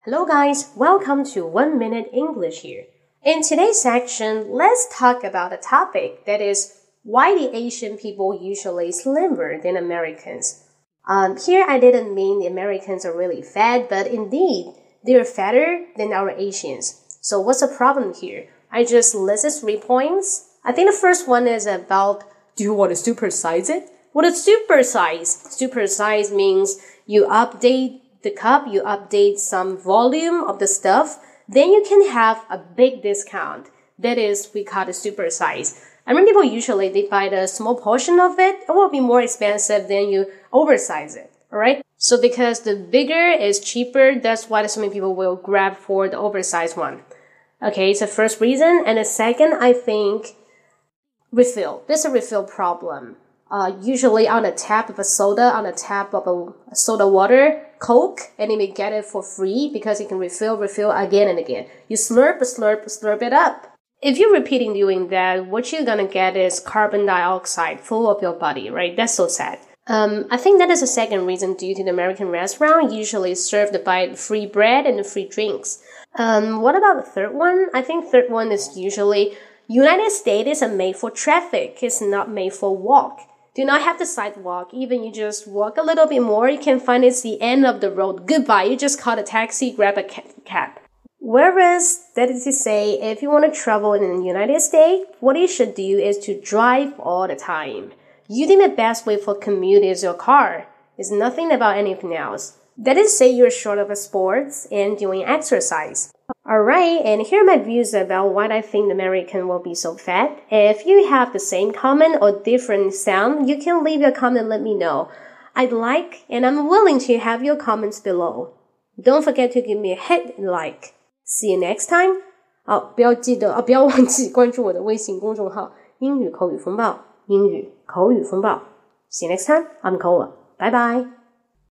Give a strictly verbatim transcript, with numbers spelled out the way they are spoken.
Hello guys, welcome to One Minute English here. In today's section, let's talk about a topic that is why the Asian people usually slimmer than Americans. Um, here I didn't mean the Americans are really fat, but indeed, they're fatter than our Asians. So what's the problem here? I just listed three points. I think the first one is about, do you want to supersize it? What is supersize? Supersize means you update the cup, you update some volume of the stuff, then you can have a big discount. That is, we call it super size. I mean, people usually, they buy the small portion of it. It will be more expensive than you oversize it, alright? So because the bigger is cheaper, that's why so many people will grab for the oversized one. Okay, it's the first reason. And the second, I think, refill. There's a refill problem. Uh, usually on the tap of a soda, on the tap of a soda water, Coke, and you may get it for free because you can refill, refill again and again. You slurp, slurp, slurp it up. If you're repeating doing that, what you're gonna get is carbon dioxide full of your body, right? That's so sad. Um, I think that is the second reason due to the American restaurant usually served by free bread and free drinks. Um, what about the third one? I think third one is usually United States is made for traffic. It's not made for walk. Do not have the sidewalk. Even you just walk a little bit more, you can find it's the end of the road. Goodbye. You just call a taxi, grab a cab. Whereas, that is to say, if you want to travel in the United States, what you should do is to drive all the time. You think the best way for commute is your car. It's nothing about anything else. That is, say you're short of sports and doing exercise. Alright, and here are my views about why I think the American will be so fat. If you have the same comment or different sound, you can leave your comment and let me know. I'd like and I'm willing to have your comments below. Don't forget to give me a hit and like. See you next time. 好，不要记得，啊，不要忘记关注我的微信公众号英语口语风暴，英语口语风暴。See you next time. I'm Cola. Bye bye.